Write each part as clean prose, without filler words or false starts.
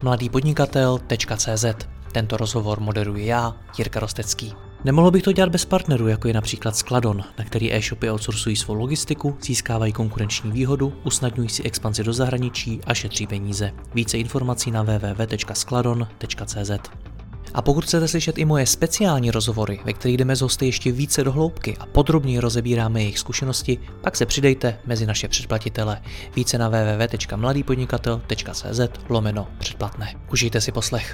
mladýpodnikatel.cz. Tento rozhovor moderuji já, Jirka Rostecký. Nemohl bych to dělat bez partnerů, jako je například Skladon, na který e-shopy outsourcují svou logistiku, získávají konkurenční výhodu, usnadňují si expanzi do zahraničí a šetří peníze. Více informací na www.skladon.cz. A pokud chcete slyšet i moje speciální rozhovory, ve kterých jdeme s hosty ještě více do hloubky a podrobněji rozebíráme jejich zkušenosti, pak se přidejte mezi naše předplatitele. Více na www.mladýpodnikatel.cz/předplatné. Užijte si poslech.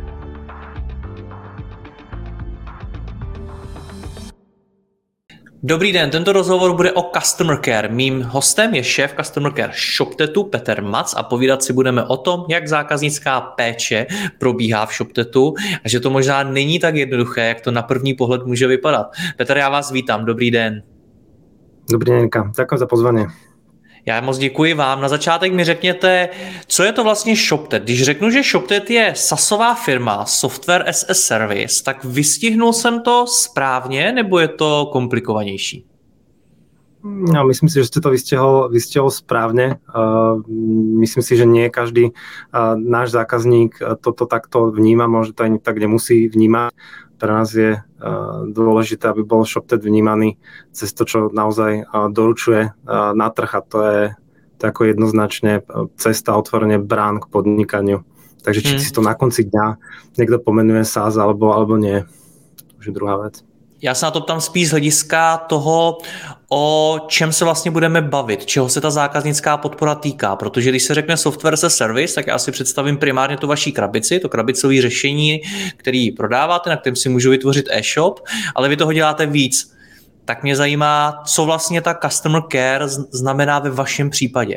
Dobrý den, tento rozhovor bude o Customer Care. Mým hostem je šéf Customer Care ShopTetu Petr Mac a povídat si budeme o tom, jak zákaznická péče probíhá v ShopTetu a že to možná není tak jednoduché, jak to na první pohled může vypadat. Petr, já vás vítám, dobrý den. Dobrý den, Jirka, děkuji za pozvání. Já moc děkuji vám. Na začátek mi řekněte, co je to vlastně ShopTet. Když řeknu, že ShopTet je SaaSová firma, Software as a Service, tak vystihnul jsem to správně, nebo je to komplikovanější? No, myslím si, že ste to vystihol správne. Myslím si, že nie každý náš zákazník toto takto vníma, možno to ani tak nemusí vnímať. Pre nás je dôležité, aby bol ShopTet vnímaný cez to, čo naozaj doručuje na trh, a to je ako jednoznačne cesta, otvorenie brán k podnikaniu. Takže či si to na konci dňa niekto pomenuje SaaS alebo nie, to už je druhá vec. Já se na to ptám spíš z hlediska toho, o čem se vlastně budeme bavit, čeho se ta zákaznická podpora týká, protože když se řekne software as a service, tak já si představím primárně tu vaší krabici, to krabicové řešení, který prodáváte, na kterém si můžu vytvořit e-shop, ale vy toho děláte víc. Tak mě zajímá, co vlastně ta customer care znamená ve vašem případě.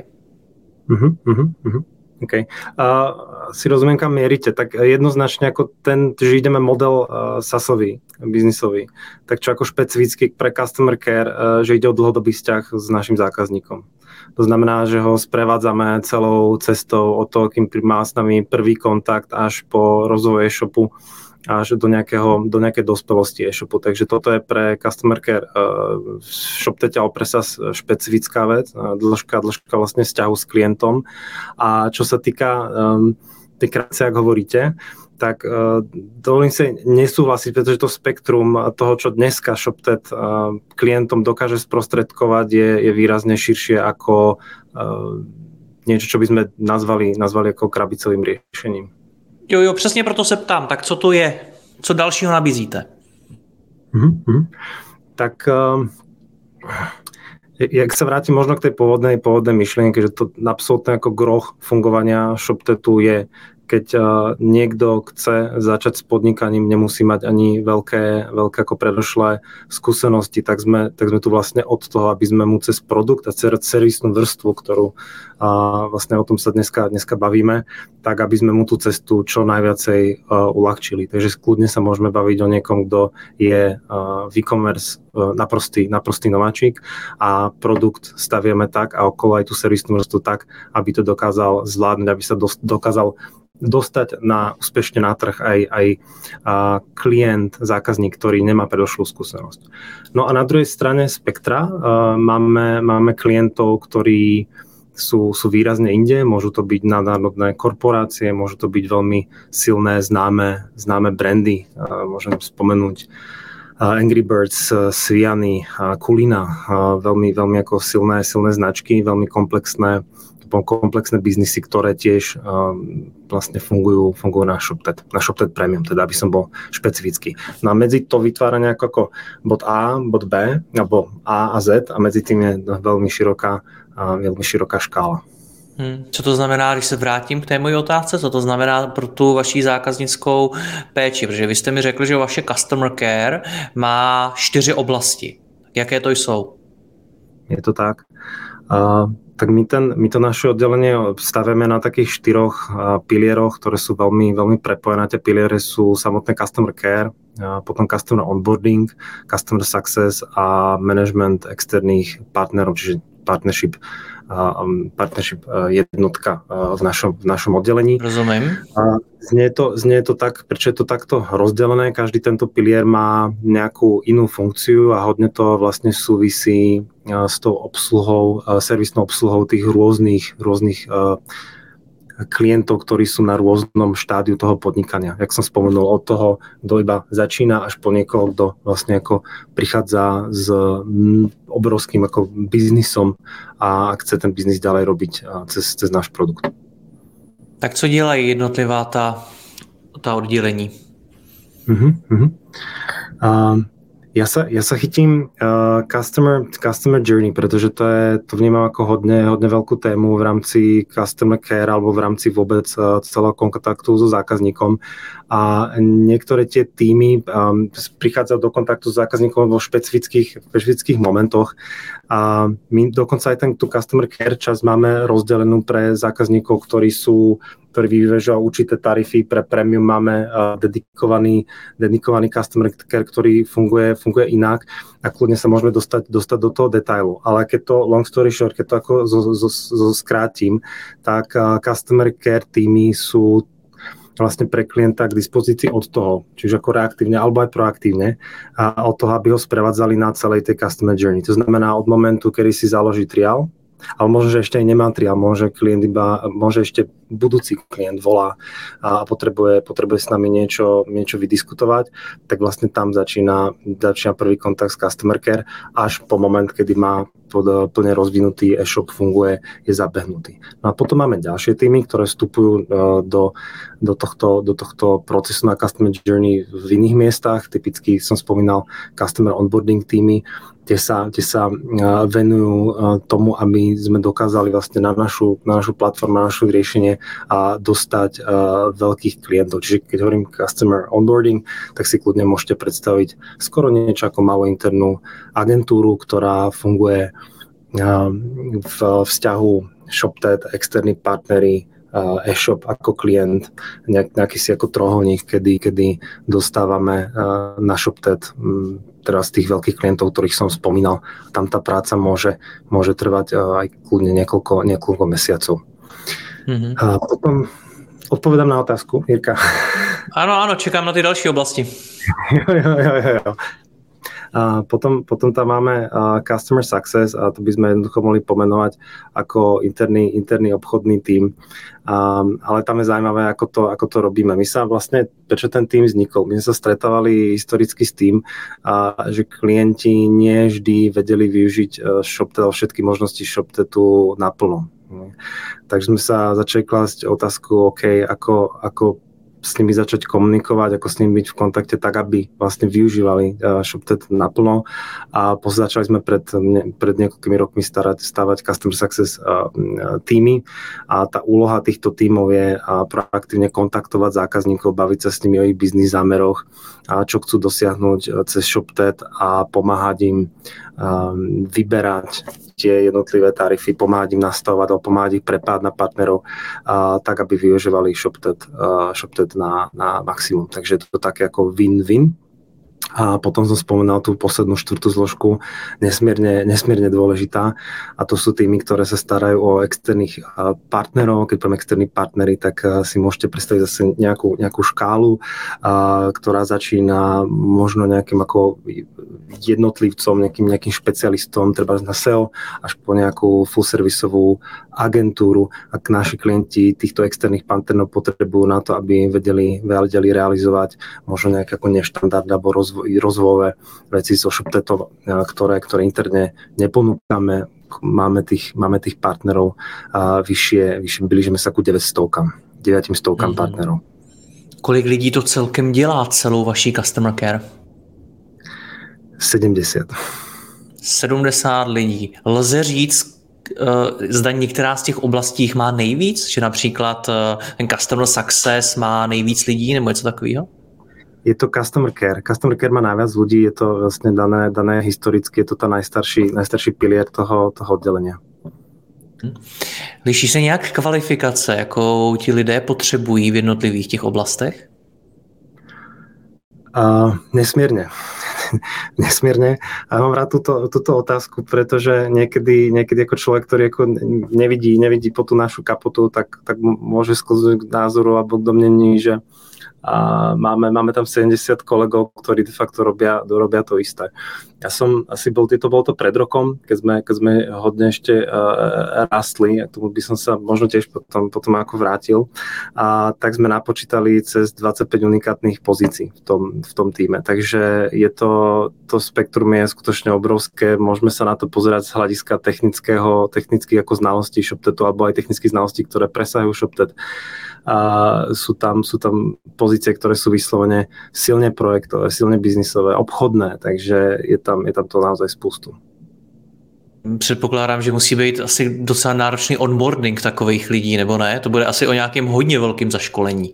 OK. Si rozumiem, kam mierite. Tak jednoznačne ako že ideme model SaaSový, biznisový, tak čo ako špecificky pre customer care, že ide o dlhodobý vzťah s našim zákazníkom. To znamená, že ho sprevádzame celou cestou od toho, kým má s nami prvý kontakt až po rozvoj e-shopu, až do nejakej dospelosti e-shopu. Takže toto je pre customer care ShopTet alebo pre SaaS špecifická vec, dĺžka vlastne vzťahu s klientom. A čo sa týka tej krabice, ak hovoríte, tak dovolím si nesúhlasiť, pretože to spektrum toho, čo dneska ShopTet klientom dokáže sprostredkovať, je výrazne širšie ako niečo, čo by sme nazvali ako krabicovým riešením. Jo, přesně proto se ptám. Tak co to je? Co dalšího nabízíte? Tak jak sa vrátim možno k tej pôvodnej myšlienke, že to absolútne ako groch fungovania ShopTetu je, keď niekto chce začať s podnikaním, nemusí mať ani veľké ako predošlé skúsenosti, tak sme tu vlastne od toho, aby sme mu cez produkt a servisnú vrstvu, ktorú vlastne o tom sa dneska bavíme, tak aby sme mu tú cestu čo najviacej uľahčili. Takže kľudne sa môžeme baviť o niekom, kto je v e-commerce naprostý nováčik a produkt staviame tak a okolo aj tú servisnú vrstvu tak, aby to dokázal zvládnuť, aby sa dokázal dostať úspešne na trh aj klient, zákazník, ktorý nemá predošlú skúsenosť. No a na druhej strane spektra máme klientov, ktorí sú výrazne inde, môžu to byť nadnárodné korporácie, môžu to byť veľmi silné, známe brandy, môžem spomenúť Angry Birds, Sviany, Kulina, veľmi ako silné značky, veľmi komplexné biznisy, ktoré tiež vlastne fungujú na ShopTet Premium, teda aby som bol špecifický. No a medzi to vytvára nejako ako bod A, bod B, alebo A a Z a medzi tým je veľmi široká škála. Co to znamená, když se vrátím k té mojí otázce, co to znamená pro tu vaši zákaznickou péči? Protože vy jste mi řekli, že vaše customer care má 4 oblasti. Jaké to jsou? Je to tak. Tak my to naše oddelenie stavíme na takých 4 pilieroch, ktoré sú veľmi, veľmi prepojené. Tie piliere sú samotné customer care, potom customer onboarding, customer success a management externých partnerov, čiže partnership jednotka v našom oddelení. Rozumiem. Znie to tak, prečo je to takto rozdelené. Každý tento pilier má nejakú inú funkciu a hodne to vlastne súvisí s tou obsluhou, servisnou obsluhou tých rôznych klientov, ktorí sú na rôznom štádiu toho podnikania. Jak som spomenul, od toho, kto iba začína, až po niekoho, kto vlastne ako prichádza s obrovským ako biznisom a chce ten biznis ďalej robiť cez náš produkt. Tak co dělají jednotlivá ta oddělení? Ja sa chytím customer journey, pretože to vnímam ako hodne veľkú tému v rámci customer care alebo v rámci vôbec celého kontaktu so zákazníkom. A niektoré tie týmy prichádzajú do kontaktu s zákazníkom vo špecifických momentoch. A my dokonca aj tú customer care časť máme rozdelenú pre zákazníkov, ktorí vyvežujú určité tarify. Pre premium máme dedikovaný customer care, ktorý funguje inak a kľudne sa môžeme dostať do toho detailu. Ale keď to long story short, keď to ako skrátim, tak customer care týmy sú vlastne pre klienta k dispozícii od toho, čiže ako reaktívne alebo aj proaktívne, a od toho, aby ho sprevádzali na celej tej customer journey. To znamená od momentu, kedy si založí triál, ale možno, že ešte aj nemá triál, môže ešte budúci klient volá a potrebuje s nami niečo vydiskutovať, tak vlastne tam začína prvý kontakt s customer care, až po moment, kedy má plne rozvinutý e-shop, funguje, je zabehnutý. No a potom máme ďalšie týmy, ktoré vstupujú do tohto procesu na customer journey v iných miestach. Typicky som spomínal customer onboarding týmy, kde sa venujú tomu, aby sme dokázali vlastne na našu platformu, na naše riešenie a dostať veľkých klientov. Čiže keď hovorím customer onboarding, tak si kľudne môžete predstaviť skoro niečo ako malú internú agentúru, ktorá funguje v vzťahu ShopTet, externí partneri, e-shop ako klient, nejaký si ako trojuholník, kedy dostávame na ShopTet teraz tých veľkých klientov, ktorých som spomínal. Tam tá práca môže trvať aj kľudne niekoľko mesiacov. Mm-hmm. A potom odpovedám na otázku, Jirka. Áno, čekám na tie ďalšie oblasti. Jo. A potom tam máme Customer Success a to by sme jednoducho mohli pomenovať ako interný obchodný tím. Ale tam je zaujímavé, ako to robíme. My sa vlastne, prečo ten tím vznikol? My sme sa stretávali historicky s tým, že klienti nie vždy vedeli využiť ShopTet, všetky možnosti ShopTetu naplno. Takže sme sa začali klásť otázku, ako s nimi začať komunikovať, ako s nimi byť v kontakte tak, aby vlastne využívali ShopTet naplno. A začali sme pred niekoľkými rokmi stavať Customer Success týmy a tá úloha týchto tímov je proaktívne kontaktovať zákazníkov, baviť sa s nimi o ich biznis zámeroch, čo chcú dosiahnuť cez ShopTet a pomáhať im vyberať tie jednotlivé tarify, pomáhať im nastavovať alebo pomáhať ich prepájať na partnerov tak, aby využívali ShopTet na maximum. Takže je to také ako win-win. A potom som spomínal tú poslednú štvrtú zložku, nesmierne dôležitá, a to sú týmy, ktoré sa starajú o externých partnerov. Keď poviem externí partnery, tak si môžete predstaviť zase nejakú škálu, ktorá začína možno nejakým ako jednotlivcom, nejakým špecialistom, treba na SEO, až po nejakú full-servisovú agentúru. Ak naši klienti týchto externých partnerov potrebujú na to, aby vedeli realizovať možno nejaké ako neštandard alebo rozvojové veci so ShopTetom, ktoré interne neponúkame. Máme tých partnerov vyššie, blížime sa ku 900 partnerov. Kolik lidí to celkem dělá celou vaší customer care? 70. 70 lidí. Lze říct, zda některá z těch oblastí má nejvíc? Že například ten customer success má nejvíc lidí nebo něco takového? Je to customer care. Customer care má najviac ľudí, je to vlastne dané historicky, je to tá najstarší pilier toho oddelenia. Liší se nějak kvalifikace, jakou ti lidé potřebují v jednotlivých těch oblastech? Nesmierne. A mám rád túto otázku, pretože niekedy ako človek, ktorý ako nevidí po tú našu kapotu, tak môže sklznúť k názoru alebo k domnení, že a máme tam 70 kolegov, ktorí de facto robia to isté. Ja som asi bol to pred rokom, keď sme hodne ešte rastli, a tomu by som sa možno tiež potom ako vrátil, a tak sme napočítali cez 25 unikátnych pozícií v tom týme. Takže to spektrum je skutočne obrovské, môžeme sa na to pozerať z hľadiska technických ako znalostí ShopTetu, alebo aj technických znalostí, ktoré presahujú ShopTet. A sú tam pozície, ktoré sú vyslovene silne projektové, silne biznisové, obchodné, takže je tam to naozaj spoustu. Předpokládám, že musí být asi docela náročný onboarding takových lidí, nebo ne? To bude asi o nějakém hodně velkým zaškolení.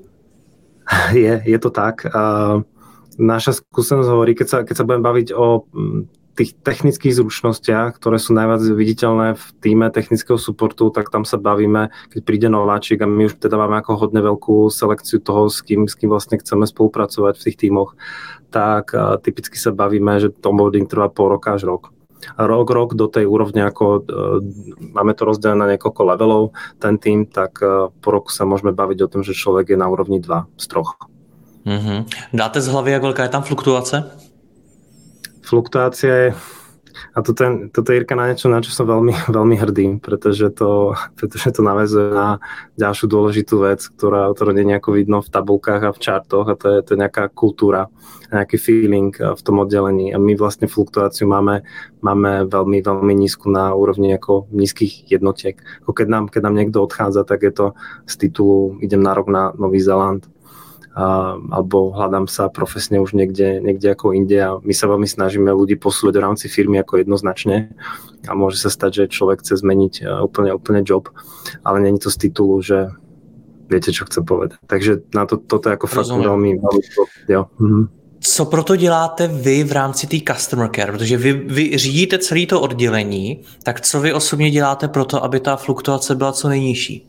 Je to tak. Naša skúsenosť hovorí, keď sa budem baviť o tých technických zručnostiach, ktoré sú najviac viditeľné v týme technického supportu, tak tam sa bavíme, keď príde nováčik a my už teda máme ako hodne veľkú selekciu toho, s kým vlastne chceme spolupracovať v tých tímoch, tak typicky sa bavíme, že onboarding trvá pol roka až rok. Rok do tej úrovne, ako máme to rozdelené na niekoľko levelov, ten tým, tak po roku sa môžeme baviť o tom, že človek je na úrovni 2 z 3. Mm-hmm. Dáte z hlavy, jak velká je tam fluktuace? Fluktuácia je, a toto je, Jirka, na niečo, na čo som veľmi, veľmi hrdý, pretože to naväzuje na ďalšiu dôležitú vec, ktorá nie nejako vidno v tabulkách a v čartoch, a to je nejaká kultúra, nejaký feeling v tom oddelení. A my vlastne fluktuáciu máme veľmi, veľmi nízku na úrovni ako nízkych jednotiek. Ako keď nám niekto odchádza, tak je to z titulu idem na rok na Nový Zéland, alebo hľadám sa profesne už niekde ako inde, a my sa veľmi snažíme ľudí posúvať v rámci firmy ako jednoznačne, a môže sa stať, že človek chce zmeniť úplne job, ale nie je to z titulu, že viete, čo chce povedať. Takže na toto je ako fakt veľmi jo. Mhm. Co proto děláte vy v rámci té customer care? Protože vy řídíte celé to oddělení, tak co vy osobně děláte proto, aby ta fluktuace byla co nejnižší?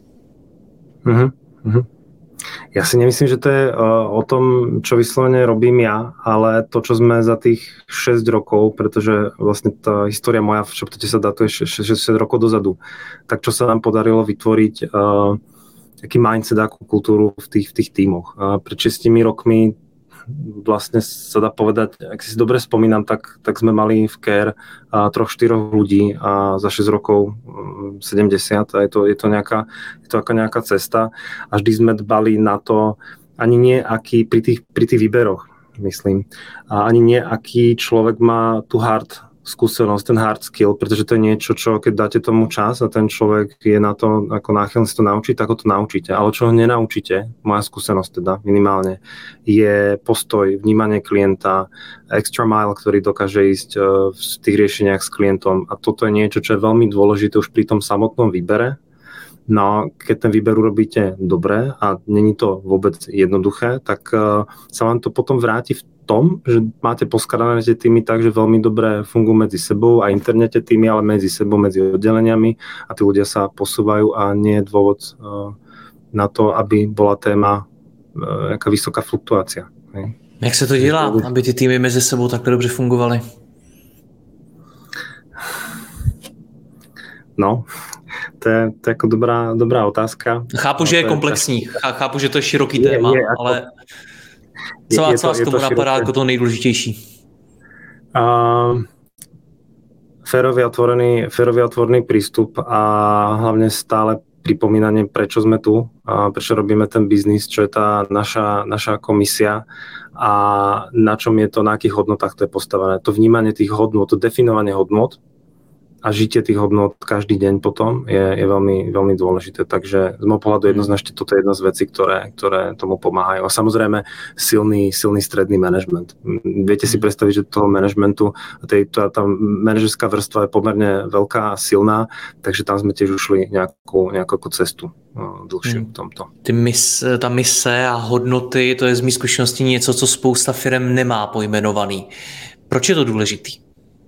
Ja si nemyslím, že to je o tom, čo vyslovene robím ja, ale to, čo sme za tých 6 rokov, pretože vlastne tá história moja v ShopTete sa datuje 6 rokov dozadu, tak čo sa nám podarilo vytvoriť taký mindset, akú kultúru v tých tímoch. Pred 6 rokmi vlastne sa dá povedať, ak si dobre spomínam, tak sme mali v Care 3-4 ľudí a za 6 rokov 70, a je to nejaká cesta, a vždy sme dbali na to, ani nie aký pri tých výberoch, myslím, a ani nie aký človek má tú hard skúsenosť, ten hard skill, pretože to je niečo, čo keď dáte tomu čas a ten človek je na to ako náchylný si to naučiť, tak ho to naučíte. Ale čo ho nenaučíte, moja skúsenosť teda minimálne, je postoj, vnímanie klienta, extra mile, ktorý dokáže ísť v tých riešeniach s klientom, a toto je niečo, čo je veľmi dôležité už pri tom samotnom výbere. No, keď ten výber urobíte dobre a není to vôbec jednoduché, tak sa vám to potom vráti v tom, že máte poskladané tie týmy tak, že veľmi dobre fungujú medzi sebou, a internete týmy, ale medzi sebou, medzi oddeleniami, a tí ľudia sa posúvajú a nie je dôvod na to, aby bola téma nejaká vysoká fluktuácia. Jak se to dělá, aby ty týmy mezi sebou takhle dobře fungovaly? No, to je jako dobrá otázka. Chápu, že je komplexní, chápu, že to je široký téma, ale co vás k tomu napadá jako to nejdůležitější? Férový otvorený prístup a hlavne stále pripomínanie, prečo sme tu, a prečo robíme ten biznis, čo je tá naša komisia a na čom je to, na akých hodnotách to je postavené. To vnímanie tých hodnot, to definovanie hodnot a žitie tých hodnot každý deň potom je veľmi, veľmi dôležité. Takže z môjho pohľadu jednoznačne toto je jedna z vecí, ktoré tomu pomáhajú. A samozrejme silný stredný management. Viete si predstaviť, že toho managementu, tá manažerská vrstva je pomerne veľká a silná, takže tam sme tiež ušli nejakú cestu dlhšiu v tomto. Ta mise a hodnoty, to je z mých zkušeností něco, co spousta firem nemá pojmenovaný. Proč je to důležitý?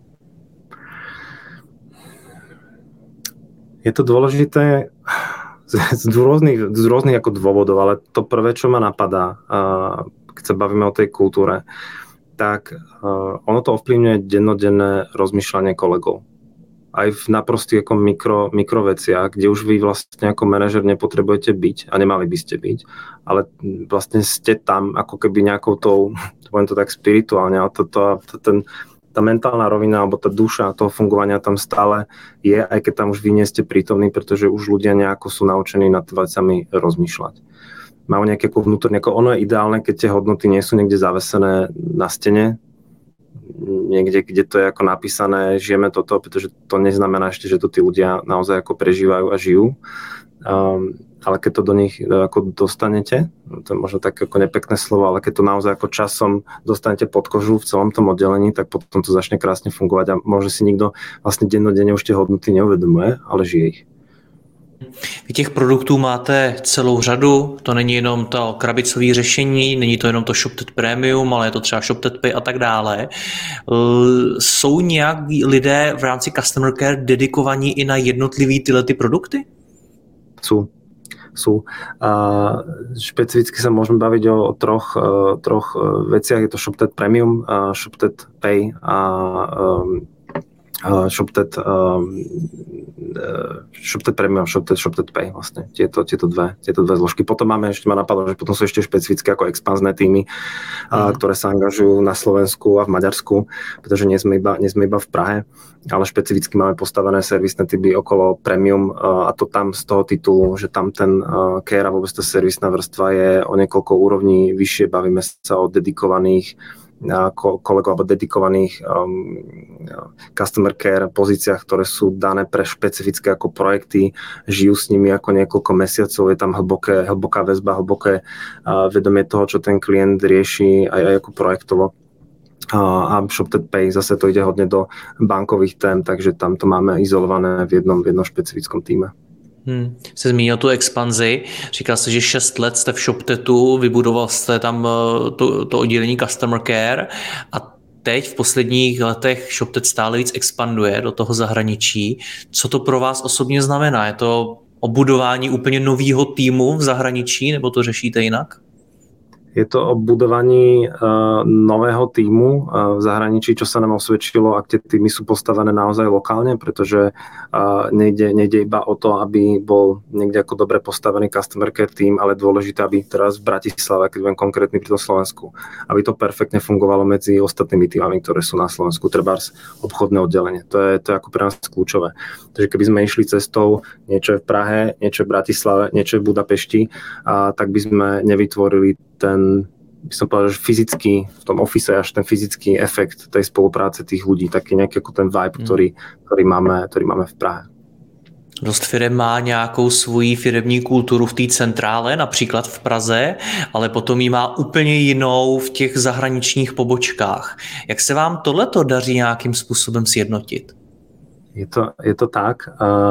Je to dôležité z rôznych ako dôvodov, ale to prvé, čo ma napadá, keď sa bavíme o tej kultúre, tak ono to ovplyvňuje dennodenné rozmýšľanie kolegov. aj v naprostých ako mikroveciach, kde už vy vlastne ako manažer nepotrebujete byť a nemali by ste byť, ale vlastne ste tam ako keby nejakou tou, poviem to tak spirituálne, ale tá mentálna rovina alebo tá duša toho fungovania tam stále je, aj keď tam už vy nie ste prítomní, pretože už ľudia nejako sú naučení nad vecami rozmýšľať. Majú nejaké vnútorne, ono je ideálne, keď tie hodnoty nie sú niekde zavesené na stene, niekde, kde to je ako napísané, žijeme toto, pretože to neznamená ešte, že to tí ľudia naozaj ako prežívajú a žijú. Ale keď to do nich ako dostanete, to je možno také ako nepekné slovo, ale keď to naozaj ako časom dostanete pod kožu v celom tom oddelení, tak potom to začne krásne fungovať a možno si nikto vlastne dennodenne už tie hodnoty neuvedomuje, ale žije ich. Vy těch produktů máte celou řadu, to není jenom to krabicové řešení, není to jenom to ShopTet Premium, ale je to třeba ShopTet Pay a tak dále. Jsou nějak lidé v rámci Customer Care dedikovaní i na jednotlivý tyhle ty produkty? Sú. Špecificky sa môžeme baviť o troch veciach. Je to ShopTet Premium, ShopTet Pay a ShopTet Premium, ShopTet Pay vlastne, tieto dve zložky. Potom máme, ešte ma napadlo, že potom sú ešte špecifické ako expanzné týmy, ktoré sa angažujú na Slovensku a v Maďarsku, pretože nie sme iba v Prahe, ale špecificky máme postavené servisné typy okolo Premium a to tam z toho titulu, že tam ten care a vôbec tá servisná vrstva je o niekoľko úrovní vyššie, bavíme sa o dedikovaných kolegov alebo dedikovaných customer care pozíciách, ktoré sú dané pre špecifické ako projekty, žijú s nimi ako niekoľko mesiacov, je tam hlboká väzba, hlboké vedomie toho, čo ten klient rieši aj ako projektovo. A ShopTet Pay zase to ide hodne do bankových tém, takže tam to máme izolované v jednom špecifickom týme. Jste zmínil tu expanzi, říkal jste, že 6 let jste v ShopTetu, vybudoval jste tam to oddělení Customer Care a teď v posledních letech ShopTet stále víc expanduje do toho zahraničí. Co to pro vás osobně znamená? Je to o budování úplně nového týmu v zahraničí, nebo to řešíte jinak? Je to o budovaní nového týmu v zahraničí, čo sa nám osvedčilo, ak tie týmy sú postavené naozaj lokálne, pretože nejde iba o to, aby bol niekde ako dobre postavený customer care tým, ale dôležité, aby teraz v Bratislave, keď budem konkrétny pri tom Slovensku, aby to perfektne fungovalo medzi ostatnými týmami, ktoré sú na Slovensku, trebárs obchodné oddelenie. To je ako pre nás kľúčové. Takže keby sme išli cestou niečo v Prahe, niečo v Bratislave, niečo v Budapešti, tak by sme nevytvorili ten, by som povedal, že fyzicky v tom office až ten fyzický efekt tej spolupráce tých ľudí, taký nejaký ako ten vibe, ktorý máme v Prahe. Dost firem má nějakou svoji firemní kulturu v té centrále, například v Praze, ale potom ji má úplně jinou v těch zahraničních pobočkách. Jak se vám tohleto daří nějakým způsobem sjednotit? Je to tak.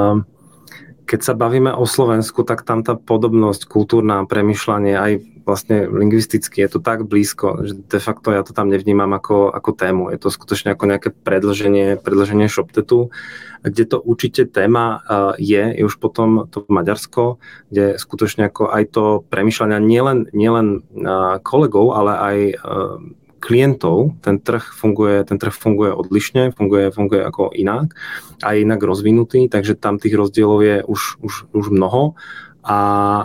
Keď sa bavíme o Slovensku, tak tam tá podobnosť, kultúrna premýšľanie, aj vlastne lingvisticky je to tak blízko, že de facto ja to tam nevnímam ako tému. Je to skutočne ako nejaké predĺženie ShopTetu, kde to určite téma je už potom to Maďarsko, kde skutočne ako aj to premýšľania nielen kolegov, ale aj klientov, ten trh funguje odlišne, funguje ako inak a je inak rozvinutý, takže tam tých rozdielov je už mnoho a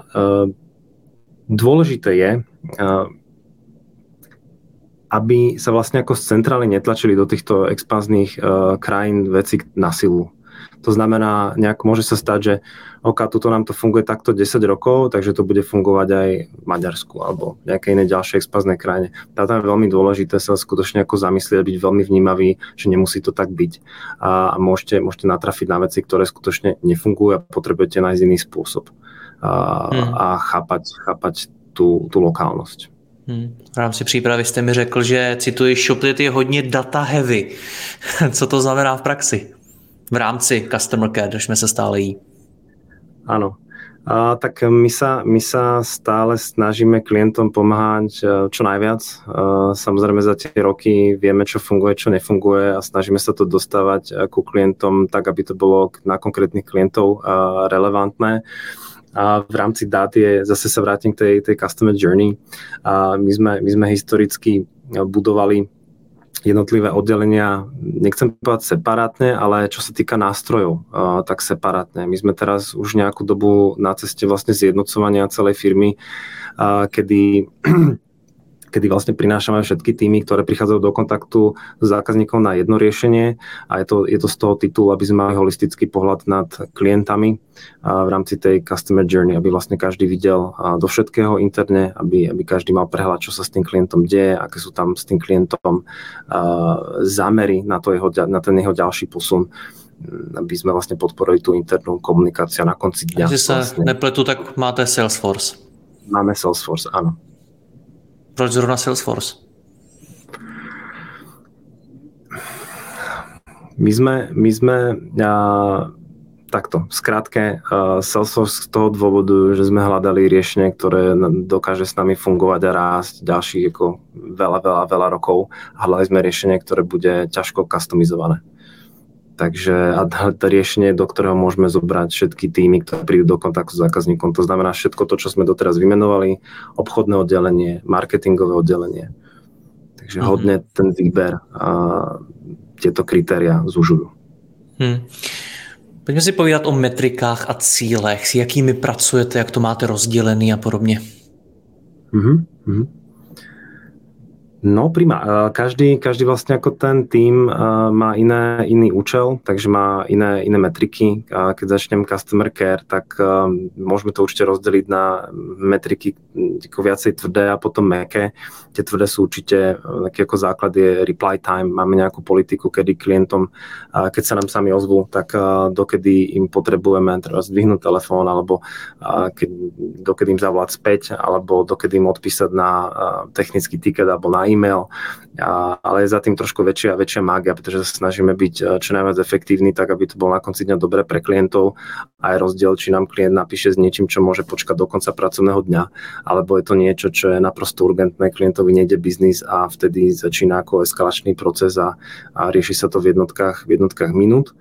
dôležité je, aby sa vlastne ako z centrály netlačili do týchto expanzných krajín veci na silu. To znamená, môže sa stať, že tuto nám to funguje takto 10 rokov, takže to bude fungovať aj v Maďarsku alebo nejakej inej ďalšej expanznej krajine. Tam je veľmi dôležité sa skutočne ako zamyslieť, byť veľmi vnímavý, že nemusí to tak byť. A môžete natrafiť na veci, ktoré skutočne nefungujú a potrebujete nájsť iný spôsob a chápať tú lokálnosť. V rámci přípravy jste mi řekl, že cituji, ShopTet je hodně data heavy. Co to znamená v praxi? V rámci Customer Care, držme sa stále jí. Áno. Tak my sa stále snažíme klientom pomáhať čo najviac. Samozrejme za tie roky vieme, čo funguje, čo nefunguje a snažíme sa to dostávať ku klientom tak, aby to bolo na konkrétnych klientov relevantné. A v rámci dát zase sa vrátim k tej customer journey. My sme historicky budovali jednotlivé oddelenia, nechcem povedať separátne, ale čo sa týka nástrojov, tak separátne. My sme teraz už nejakú dobu na ceste vlastne zjednocovania celej firmy, kedy vlastne prinášame všetky týmy, ktoré prichádzajú do kontaktu s zákazníkom na jedno riešenie a je to z toho titulu, aby sme mali holistický pohľad nad klientami v rámci tej customer journey, aby vlastne každý videl do všetkého interne, aby každý mal prehľad, čo sa s tým klientom deje, aké sú tam s tým klientom zámery na ten jeho ďalší posun, aby sme vlastne podporili tú internú komunikáciu na konci dňa. Když sa nepletu, tak máte Salesforce. Máme Salesforce, áno. Proč zrovna Salesforce? My sme takto, v skratke, Salesforce z toho dôvodu, že sme hľadali riešenie, ktoré dokáže s nami fungovať a rásť ďalších ako veľa rokov. Hľadali sme riešenie, ktoré bude ťažko customizované. Takže a to riešenie, do ktorého môžeme zobrať všetky týmy, ktoré prídu do kontaktu s zákazníkom. To znamená všetko to, čo sme doteraz vymenovali, obchodné oddelenie, marketingové oddelenie. Takže hodne ten výber a tieto kritéria zužujú. Pojďme si povídat o metrikách a cílech, s jakými pracujete, jak to máte rozdělený a podobně. No prima, každý vlastne ako ten tím má iný účel, takže má iné metriky. Keď začnem Customer Care, tak môžeme to určite rozdeliť na metriky ako viacej tvrdé a potom mäkké. Tie tvrdé sú určite, taký ako základ je reply time. Máme nejakú politiku, kedy klientom, keď sa nám sami ozvú, tak dokedy im potrebujeme zdvihnúť telefón, alebo dokedy im zavolať späť, alebo dokedy im odpísať na technický ticket alebo na e-mail, ale je za tým trošku väčšia mágia, pretože sa snažíme byť čo najviac efektívni, tak aby to bolo na konci dňa dobre pre klientov a je rozdiel, či nám klient napíše s niečím, čo môže počkať do konca pracovného dňa, alebo je to niečo, čo je naprosto urgentné, klientovi nejde biznis a vtedy začína ako eskalačný proces a rieši sa to v jednotkách minút.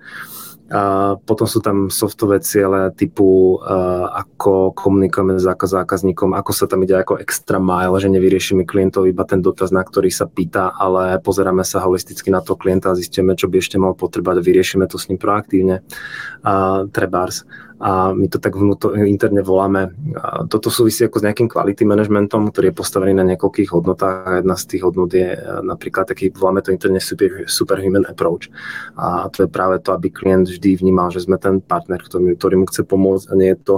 A potom sú tam softové ciele typu ako komunikujeme s zákazníkom, ako sa tam ide ako extra mile, že nevyriešime klientov iba ten dotaz, na ktorý sa pýta, ale pozeráme sa holisticky na to klienta a zistíme, čo by ešte mal potrebať a vyriešime to s ním proaktívne. Trebárs. A my to tak interne voláme. Toto súvisí ako s nejakým quality managementom, ktorý je postavený na niekoľkých hodnotách a jedna z tých hodnot je napríklad taký, voláme to interne superhuman approach. A to je práve to, aby klient vždy vnímal, že sme ten partner, ktorý mu chce pomôcť a nie je to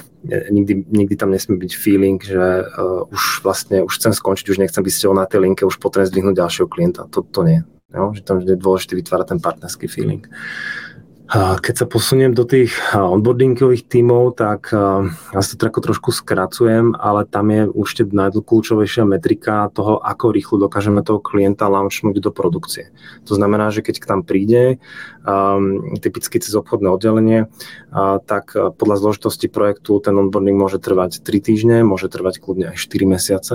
nikdy tam nesmie byť feeling, že už chcem skončiť, už nechcem byť s tebou na tej linke, už potrebujem zdvihnúť ďalšieho klienta. To nie. Jo? Že tam vždy je dôležité vytvárať ten partnerský feeling. Keď sa posuniem do tých onboardingových tímov, tak ja si to trošku skracujem, ale tam je určite najdôležitejšia metrika toho, ako rýchlo dokážeme toho klienta launchnúť do produkcie. To znamená, že keď k tam príde, typicky cez obchodné oddelenie, tak podľa zložitosti projektu ten onboarding môže trvať 3 týždne, môže trvať kľudne aj 4 mesiace.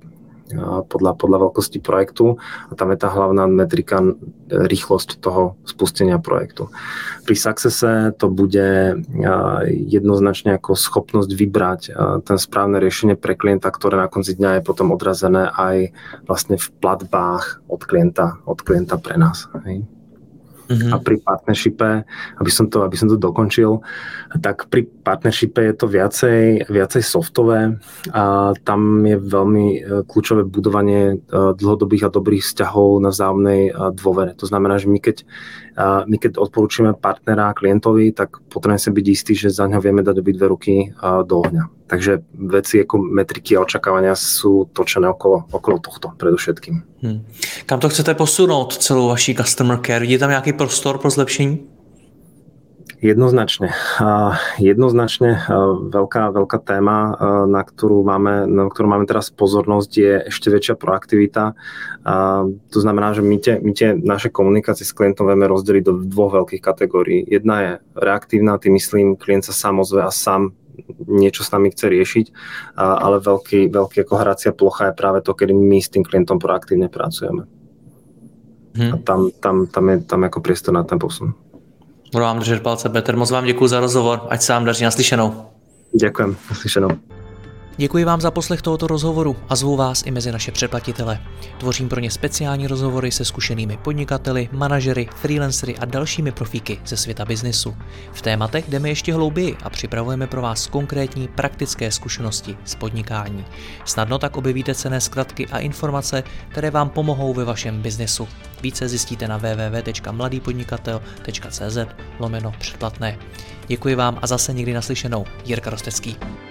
Podľa veľkosti projektu a tam je tá hlavná metrika rýchlosť toho spustenia projektu. Pri Successe to bude jednoznačne ako schopnosť vybrať ten správne riešenie pre klienta, ktoré na konci dňa je potom odrazené aj vlastne v platbách od klienta pre nás. Hej. A pri partnershipe, aby som to dokončil, tak pri partnershipe je to viacej softové a tam je veľmi kľúčové budovanie dlhodobých a dobrých vzťahov na vzájomnej dôvere. To znamená, že my keď odporúčime partnera klientovi, tak potrebujeme si byť istí, že za ňo vieme dať obidve ruky do ohňa. Takže veci ako metriky a očakávania sú točené okolo tohto predovšetkým. Kam to chcete posunout celou vaší customer care? Vidíte tam nějaký prostor pro zlepšení? Jednoznačne veľká téma, na ktorú máme teraz pozornosť, je ešte väčšia proaktivita. To znamená, že my tie naše komunikácie s klientom vieme rozdeliť do dvoch veľkých kategórií. Jedna je reaktívna, tým myslím, klient sa sám ozve a sám niečo s nami chce riešiť, ale veľký ako hracia plocha je práve to, kedy my s tým klientom proaktívne pracujeme. A tam je ako priestor na ten posun. Budu vám držet palce, Petr. Moc vám děkuji za rozhovor. Ať se vám daří, naslyšenou. Ďakujem, naslyšenou. Děkuji vám za poslech tohoto rozhovoru a zvu vás i mezi naše předplatitele. Tvořím pro ně speciální rozhovory se zkušenými podnikateli, manažery, freelancery a dalšími profíky ze světa biznesu. V tématech jdeme ještě hlouběji a připravujeme pro vás konkrétní praktické zkušenosti z podnikání. Snadno tak objevíte cenné zkratky a informace, které vám pomohou ve vašem biznesu. Více zjistíte na www.mladýpodnikatel.cz/předplatné. Děkuji vám a zase někdy naslyšenou. Jirka Rostecký.